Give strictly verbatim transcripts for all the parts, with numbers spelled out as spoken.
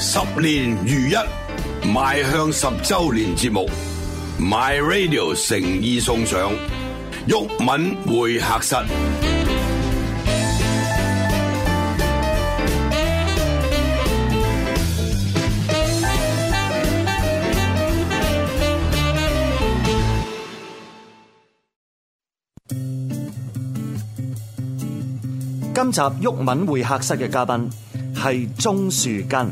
十年如一，邁向十周年節目 My Radio 誠意送上毓民會客室。 今集毓民會客室嘅嘉賓係鍾樹根。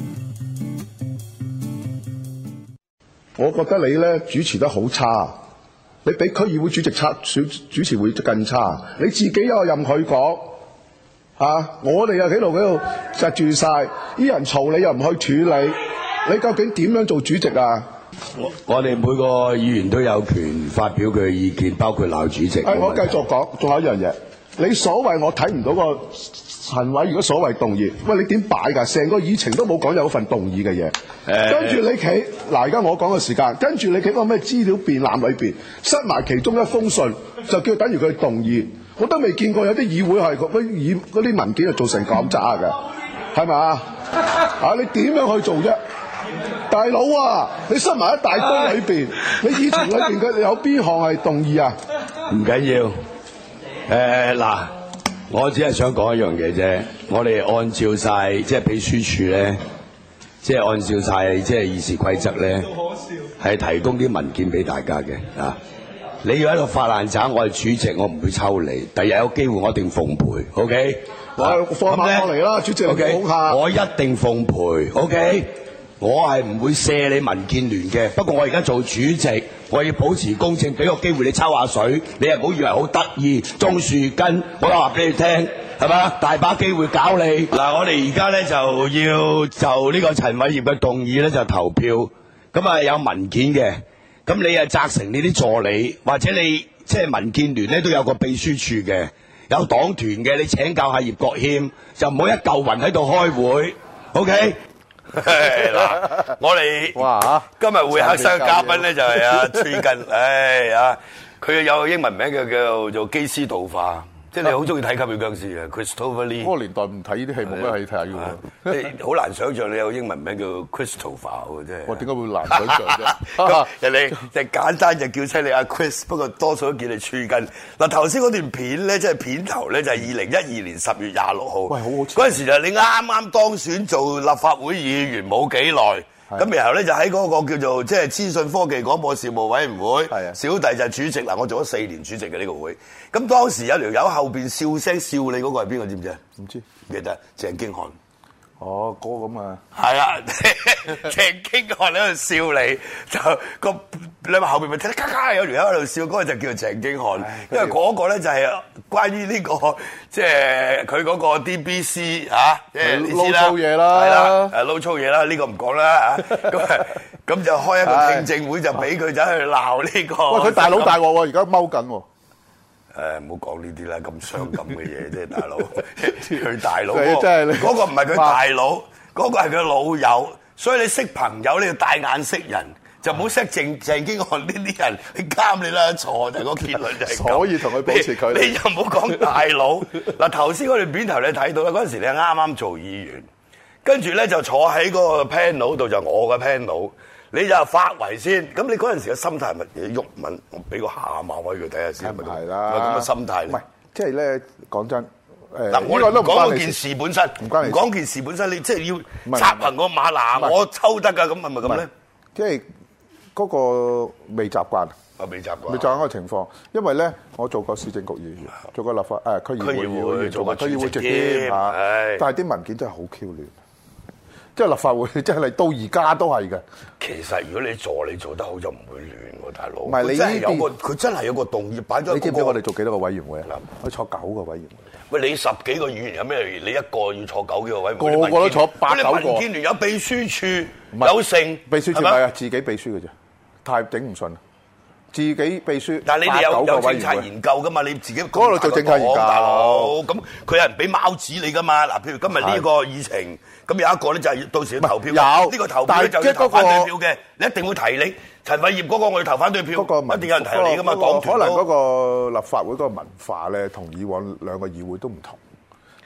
我覺得你咧主持得好差，你比區議會主席差，主主持會更差。你自己又任佢講嚇，我哋又喺度喺度窒住晒，啲人嘈你又唔去處理，你究竟點樣做主席啊？ 我我哋每個議員都有權發表佢嘅意見，包括鬧主席。 誒，我繼續講，仲有一樣嘢。你所謂我睇唔到個陳委員嘅所謂動議，喂，你點擺㗎？成個議程都冇講有份動議嘅嘢，欸、跟住你企嗱，而家我講嘅時間，跟住你企個咩資料便覽裏邊，塞埋其中一封信，就叫等於佢動議。我都未見過有啲議會係嗰啲議嗰啲文件係做成咁渣嘅，係咪啊？啊，你點樣去做啫？大佬啊，你塞埋一大堆裏邊，你議程裏邊佢有邊項係動議啊？ 唔緊要。誒嗱、呃，我只係想講一樣嘢啫。我哋按照晒即係秘書處咧，即係按照晒即係議事規則咧，係提供啲文件俾大家嘅啊。你要喺度發爛渣，我係主席，我唔會抽你。第日有機會我一定奉陪 ，OK？ 我放馬過嚟啦，主席， OK？ 講下我一定奉陪 ，OK？我係唔會卸你民建聯嘅，不過我而家做主席，我要保持公正，俾個機會你抽下水，你又唔好以為好得意。鍾樹根，我話俾你聽，係嘛？大把機會搞你。嗱，我哋而家咧就要就呢個陳偉業嘅動議咧就投票，咁啊有文件嘅，咁你啊責成你啲助理，或者你即係民建聯咧都有個秘書處嘅，有黨團嘅，你請教下葉國謙，就唔好一嚿雲喺度開會 ，OK？嗱，我哋哇今日會客室嘅嘉賓咧就係阿崔根，唉啊，佢有個英文名叫叫做基斯道化，即係你好中意睇吸血僵屍嘅 Christopher Lee。嗰個年代唔睇呢啲戲冇咩戲睇下嘅，你好難想像你有英文名叫 Christopher 喎，真係。我點解會難想像啫？人哋就簡單就叫出你阿 Chris， 不過多數都叫你崔根。嗱，頭先嗰段片咧，即係片頭咧，就係二零一二年十月廿六號。喂，好好。嗰陣時就你啱啱當選做立法會議員冇幾耐。咁然後咧就喺嗰個叫做即係資訊科技廣播事務委員會，小弟就係主席嗱，我做咗四年主席嘅呢個會。咁當時有條友後邊笑聲笑你嗰個係邊個知唔知啊？唔知，記得鄭經翰。哦，哥咁啊！係啊，鄭經翰喺度笑你，就個你話後邊咪聽咔咔有條友喺度笑，嗰個就叫鄭經翰，因為嗰個咧就係關於呢個即係佢嗰個 D B C 嚇，即係你知啦，撈粗嘢啦，係啦，誒撈粗嘢啦，呢個唔講啦嚇，咁咁就開一個聽證會，就俾佢走去鬧呢個。喂，佢大佬大鑊喎，而家踎緊喎。誒，唔好講呢啲啦，咁傷感嘅嘢啫，大佬。佢大佬嗰嗰個唔係佢大佬，嗰個係佢老友，所以你識朋友你要大眼識人，就唔好識鄭鄭經翰呢啲人，你監你啦，錯就係個結論就係咁。所以同佢保持距離。你又唔好講大佬。嗱，頭先嗰段片頭你睇到啦，嗰陣時你係啱啱做議員，跟住咧就坐喺嗰個 panel 度，就我嘅 panel。你就發圍先，咁你嗰陣時嘅心態係乜嘢？毓民，我俾個下馬威佢睇下先。係咪啦？咁嘅心態唔係，即係咧講真，誒嗱，我哋講嗰件事本身，唔關你。講件事本身，你即係要插行個馬嗱，我抽得㗎，咁係咪咁咧？即係嗰個未習慣，啊未習慣，未習慣嗰個情況。因為咧，我做過市政局議員，做過立法誒區議會議員，做過區議會直兼嚇，但係啲文件真係好 Q 亂。即係立法會，真係到而家都係嘅。其實如果你助理做得好，就唔會亂喎，大佬。唔係你真係有個，佢真係有個動議擺咗。你知唔知我哋做幾多個委員會啊？我坐九個委員會。喂，你十幾個議員有咩？你一個要坐九幾個委員會？個個都坐八九個。你民建聯有秘書處，有剩。秘書處唔係啊，自己秘書嘅啫，太頂唔順。自己秘書，但係你哋有有政策研究噶嘛？你自己嗰度做政策研究，大佬咁佢有人俾貓紙你噶嘛？嗱，譬如今日呢個議程，咁有一個咧就係到時要投票，有呢個投票就要投反對票嘅，你一定會提你陳偉業嗰個我要投反對票，一定有人提你噶嘛？黨團可能嗰個立法會嗰個文化咧，同以往兩個議會都唔同。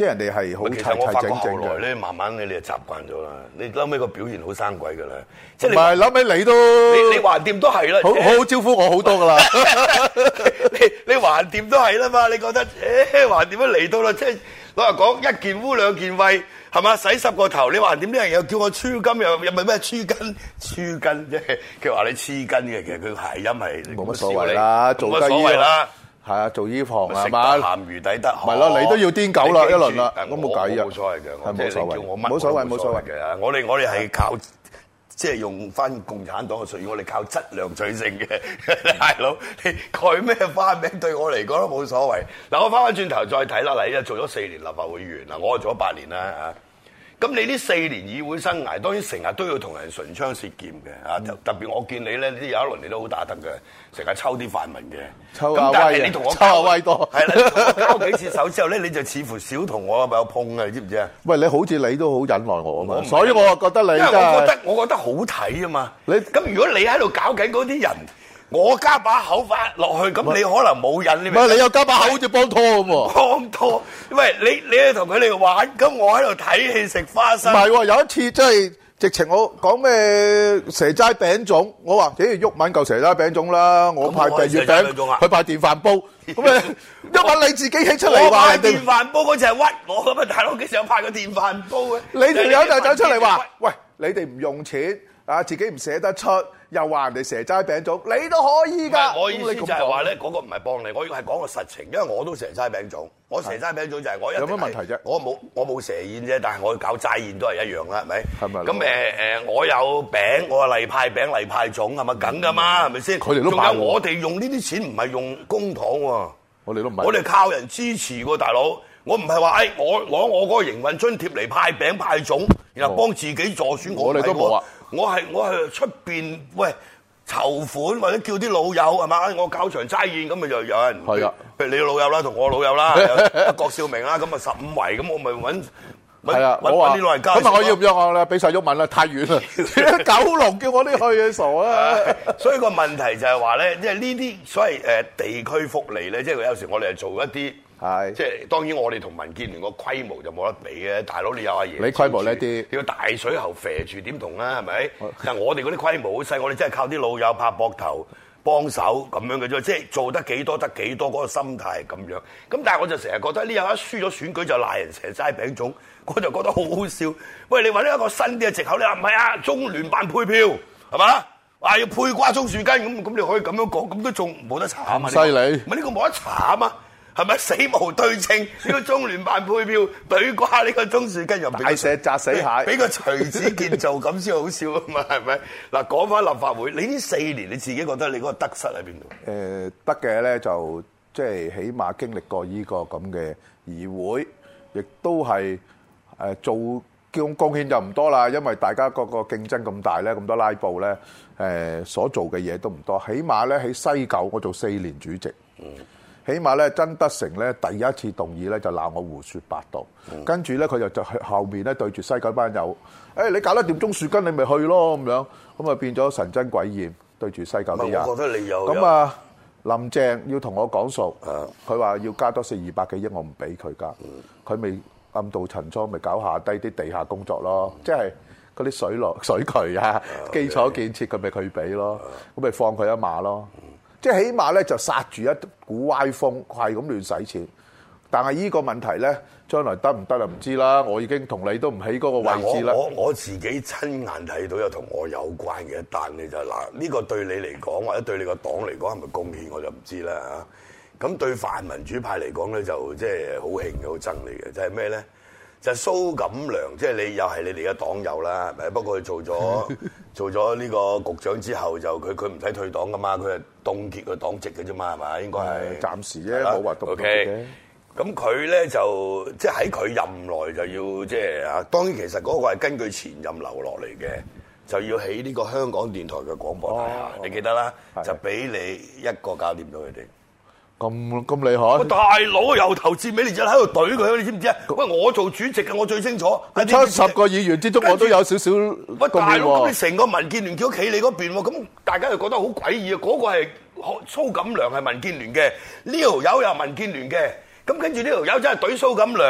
即係人哋係好其實我齊齊整發覺後整嘅。 來咧，慢慢你你就習慣咗啦。你後尾個表現好生鬼㗎啦，即係你唔係，諗起你都你你橫掂都係啦， 好好好招呼我好多㗎啦。 你你橫掂都係啦嘛？你覺得誒橫掂都嚟到啦？即係老實講，一件污兩件穢係嘛？洗十個頭，你橫掂啲人又叫我黐筋，又又咪咩黐筋黐筋啫？佢話你黐筋嘅，其實佢諧音係冇乜所謂啦，做得冇乜所謂啦。 係啊，做醫房係食嘛？ 得鹹魚抵得渴， 咪咯，你都要癲狗啦一輪啦， 我咁冇計啊冇所謂嘅， 係冇所謂即係你叫我乜冇所謂我都冇所謂嘅。我哋我哋係靠即係用翻共產黨嘅術語，我哋靠質量取勝嘅，大佬你改咩花名對我嚟講都冇所謂。嗱，我翻返轉頭再睇啦，嗱，依家做咗四年立法會議員啦，我做咗八年啦嚇。咁你呢四年議會生涯，當然成日都要同人唇槍舌劍嘅嚇，特別我見你咧，呢有一輪你都好打得嘅，成日抽啲泛民嘅， 抽下咁但威啊係你同我抽下威多係啦，你同我交幾次手之後咧，你就似乎少同我有碰啊，你知唔知啊？ 喂，你好似你都好忍耐我啊嘛， 我唔係所以我覺得你因為真係我覺得我覺得好睇啊嘛。 你咁如果你喺度搞緊嗰啲人，我加把口翻落去，咁你可能冇癮，你明唔明？ 唔係你又加把口好似幫拖咁喎。 幫拖，喂，你你去同佢哋玩，咁我喺度睇戲食花唔生。 係喎，有一次真係直情我講咩蛇齋餅粽，我話咦鬱文嚿蛇齋餅粽啦，我派咁我係訂月蛇齋餅粽啊餅，佢派電飯煲，咁誒鬱文你自己起出嚟我話人哋派電，飯煲嗰隻係屈我咁啊！大佬幾時有派個電飯煲嘅？ 你條友就走出嚟話，喂，你哋唔用錢啊，自己唔捨得出，又話人哋蛇齋餅粽，你都可以唔㗎。 係，我意思咁你咁講就係話咧，嗰個唔係幫你，我要係講個實情，因為我都蛇齋餅粽，我蛇齋餅粽就係我一定係有乜問題啫我冇我冇蛇宴啫，但係我搞齋宴都係一樣啦，係咪？ 係咪咁誒誒，我有餅，我係例派餅、例派粽，係咪梗㗎嘛？係咪先？ 佢哋都仲爆喎有我哋用呢啲錢唔係用公帑喎， 我哋都唔係我哋靠人支持喎，大佬。我唔係話誒，我攞我嗰個營運津貼嚟派餅派粽，然後幫自己助選。 我哋都冇啊！ 我係我係出邊喂籌款或者叫啲老友係嘛？我搞場齋宴咁咪就有人係啊， 譬如你老友啦，同我老友啦，有郭少明啦，咁啊十五圍咁，我咪揾係啊， 揾我話揾啲老人家。 咁啊，我要唔要我啦？俾晒鬱文啦，太遠啦，九龍叫我啲去嘅傻啦。 所以個問題就係話咧，即係呢啲所謂誒地區福利咧，即係有時我哋係做一啲。 係即係當然，我哋同民建聯個規模就冇得比嘅。大佬你有阿爺， 你規模呢啲要大水喉肥住點同啊？係咪？但係我哋嗰啲規模好細，我哋真係靠啲老友拍膊頭幫手咁樣嘅啫。即係做得幾多得幾多，嗰個心態係咁樣。咁但係我就成日覺得呢有一輸咗選舉就賴人蛇齋餅粽，我就覺得好好笑。喂，你揾一個新啲嘅藉口，你話唔係啊？中聯辦配票係嘛？話要配瓜中樹根咁，咁你可以咁樣講，咁都仲冇得查啊嘛？ 犀利唔係呢個冇得查啊嘛？係咪死無對稱？呢個中聯辦配票對瓜呢個鍾樹根又俾大石砸死蟹， 俾個徐子健做咁先好笑啊嘛？係咪？嗱，講翻立法會，你呢四年你自己覺得你嗰個得失喺邊度？ 誒得嘅咧就即係起碼經歷過呢個咁嘅議會，亦都係誒做貢貢獻就唔多啦，因為大家個個競爭咁大咧，咁多拉布咧，誒所做嘅嘢都唔多。起碼咧喺西九，我做四年主席。嗯起碼咧，曾德成咧第一次動議咧就鬧我胡說八道，嗯、跟住咧佢就就去後面咧對住西九班友，誒、哎、你搞得掂鍾樹根，你咪去咯咁樣，咁啊變咗神憎鬼厭對住西九啲人。 我覺得你有咁啊，林鄭要同我講數，佢話要加多四二百幾億，我唔俾佢加，佢咪暗度陳倉，咪搞下低啲地下工作咯，即係嗰啲水落水渠啊、基礎建設，佢咪佢俾咯，咁咪放佢一馬咯。即係起碼咧就殺住一股歪風，係咁亂使錢。但係依個問題咧，將來得唔得就唔知啦。我已經同你都唔喺嗰個位置啦。 我我自己親眼睇到有同我有關嘅一單咧就係嗱，呢個對你嚟講或者對你個黨嚟講係咪貢獻我就唔知啦嚇。咁對泛民主派嚟講咧就即係好興嘅，好憎你嘅，就係咩咧？就係蘇錦良，即係你又係你哋嘅黨友啦，係咪？不過佢做咗做咗呢個局長之後，就佢佢唔使退黨噶嘛，佢係凍結佢黨籍嘅啫嘛，係咪？應該係暫時啫，冇話凍結嘅。 咁佢咧就即係喺佢任內就要即係啊，當然其實嗰個係根據前任留落嚟嘅，就要起呢個香港電台嘅廣播大廈，哦、你記得啦，就俾你一個搞掂到佢哋。 咁咁厲害！ 喂，大佬由頭至尾你就喺度懟佢，你知唔知啊？喂，我做主席嘅，我最清楚。 七十個議員之中，我都有少少。 喂，大佬，咁你成個民建聯叫企你嗰邊喎，咁大家就覺得好詭異啊！嗰、嗰個係蘇錦良係民建聯嘅，呢條友又民建聯嘅，咁跟住呢條友真係懟蘇錦良，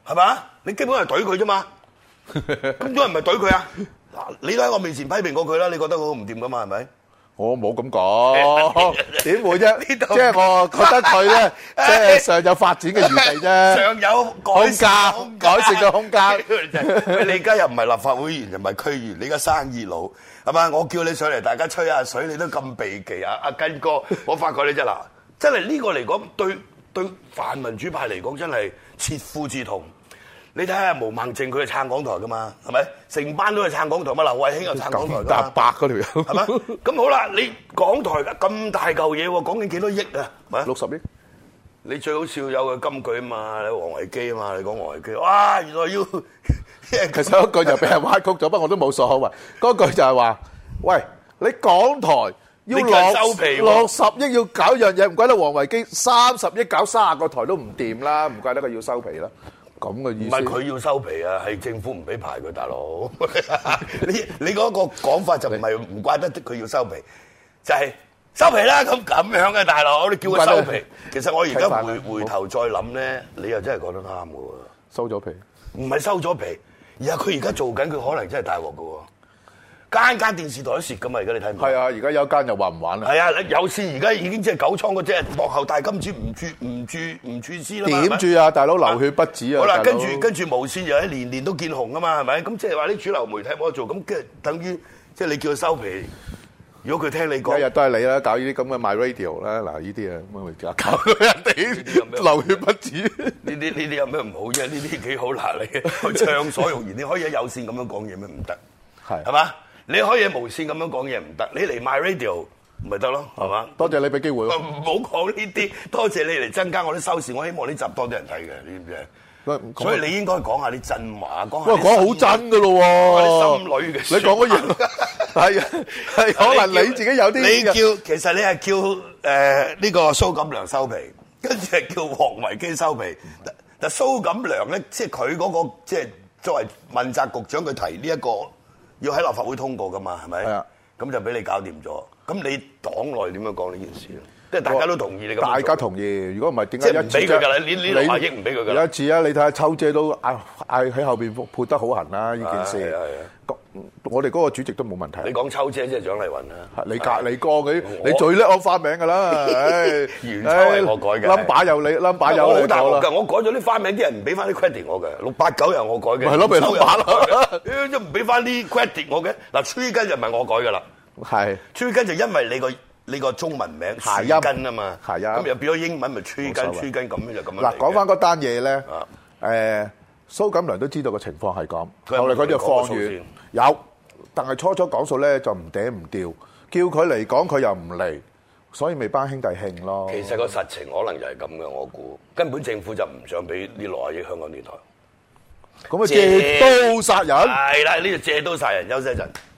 係嘛？你基本係懟佢啫嘛。咁多人咪懟佢啊？嗱，你都喺我面前批評過佢啦，你覺得我唔掂噶嘛？係咪？ 我冇咁講，點會啫？ 呢度即係我覺得佢咧，即係尚有發展嘅餘地啫， 尚有改善嘅空間改善嘅空間。 喂，你而家又唔係立法會議員，又唔係區議員，你而家生意佬係嘛？我叫你上嚟，大家吹下水，你都咁避忌啊！阿根哥，我發覺你真嗱，真係呢個嚟講，對對泛民主派嚟講，真係切膚之痛。你睇下毛孟靜佢係撐港台噶嘛，係咪？成班都係撐港台嘛，劉慧卿又撐港台㗎搭白嗰條友係咪？咁好啦，你港台咁大嚿嘢喎，講緊幾多億啊？係六十億。 你最好笑有個金句啊嘛，你王維基啊嘛，你講王維基，哇！原來要其實嗰句就俾人歪曲咗，不過我都冇所謂。嗰句就係話：喂，你港台要你叫人收皮喎六十億要搞樣嘢，唔怪得王維基三十億搞三十個台都唔掂啦，唔怪得佢要收皮啦。咁嘅意思唔係佢要收皮啊，係政府唔俾牌佢，大佬。你你嗰個講法就唔係唔怪得佢要收皮，就係、是、收皮啦。咁咁樣嘅大佬，你叫佢收皮。其實我而家回回頭再諗咧，你又真係講得啱嘅喎。 收咗皮， 唔係收咗皮，而係佢而家做緊，佢可能真係大鑊嘅喎。間間電視台都蝕㗎嘛，而家你睇唔睇？ 係啊，而家有間又話唔玩啦。 係啊，有線而家已經即係九倉嗰隻幕後大金主唔注唔注唔注資啦嘛。 點住啊，大佬流血不止啊！ 好啦， 大佬跟住跟住無線又喺年年都見紅啊嘛，係咪？咁即係話啲主流媒體冇得做，咁即係等於即係你叫佢收皮。如果佢聽你講， 日日都係你啦，搞呢啲咁嘅 My Radio 啦，嗱呢啲啊，咁咪搞到人哋流血不止。 呢啲呢啲有咩唔好啫？呢啲幾好嗱，你去暢所欲言，你可以喺有線咁樣講嘢咩？唔得， 係係嘛？你可以喺無線咁樣講嘢唔得，你嚟 My Radio 咪得咯，係嘛？ 多謝你俾機會。 唔好講呢啲，多謝你嚟增加我啲收視，我希望呢集多啲人睇嘅，你知唔知啊？所以你應該講下啲真話，講下喂，講好真㗎咯喎！ 啲心裏嘅， 你講嗰嘢係啊，係可能你自己有啲你叫其實你係叫誒呢、呃這個蘇錦良收皮，跟住係叫王維基收皮。但但蘇錦良咧，即係佢嗰個即係作為問責局長，佢提呢、這、一個要喺立法會通過噶嘛，係咪？係啊，咁就俾你搞掂咗。咁你黨內點樣講呢件事咧？即係大家都同意你咁。大家同意，如果唔係點解一唔俾佢㗎啦？呢呢六百億唔俾佢㗎啦。 有一次啊，你睇下秋姐都嗌嗌喺後邊潑得好痕啦，呢件事。係啊，我哋嗰個主席都冇問題。 你講秋姐即係蔣麗芸啦。你隔你哥嗰你最叻我花名㗎啦。 元秋係我改嘅。 number 有你 number 有你。 好大鑊㗎！我改咗啲花名，啲人唔俾翻啲 credit 我嘅。六八九又我改嘅。 係咯，咪 number 咯。 都唔俾翻啲 credit 我嘅。嗱，吹根就唔係我改㗎啦。 係。吹根就因為你個。你個中文名諧音啊嘛，諧音咁又變咗英文咪吹根吹根咁樣就咁樣。 嗱，講翻嗰單嘢咧，誒蘇錦良都知道個情況係咁，後嚟佢就放軟有，但係初初講數咧就唔嗲唔吊，叫佢嚟講佢又唔嚟，所以咪班兄弟興咯。 其實個實情可能就係咁嘅，我估根本政府就唔想俾呢六十億香港電台， 咁啊借刀殺人。 係啦，呢度借刀殺人，休息一陣。